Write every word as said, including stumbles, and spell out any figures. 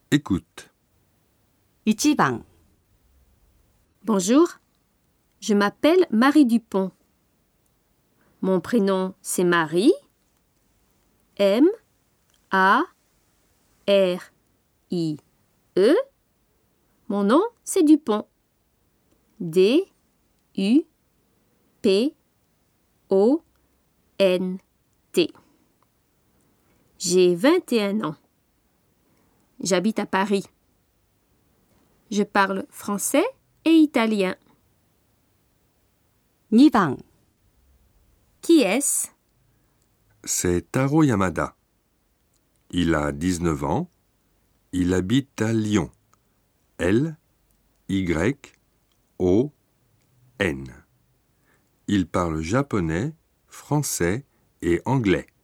Écoute. いちばん Bonjour, je m'appelle Marie Dupont. Mon prénom, c'est Marie. M A R I E. Mon nom, c'est Dupont. D U P O N T. J'ai vingt et un ans. J'habite à Paris. Je parle français et italien. にばん Qui est-ce? C'est Taro Yamada. Il a dix-neuf ans. Il habite à Lyon. L Y O N. Il parle japonais, français et anglais.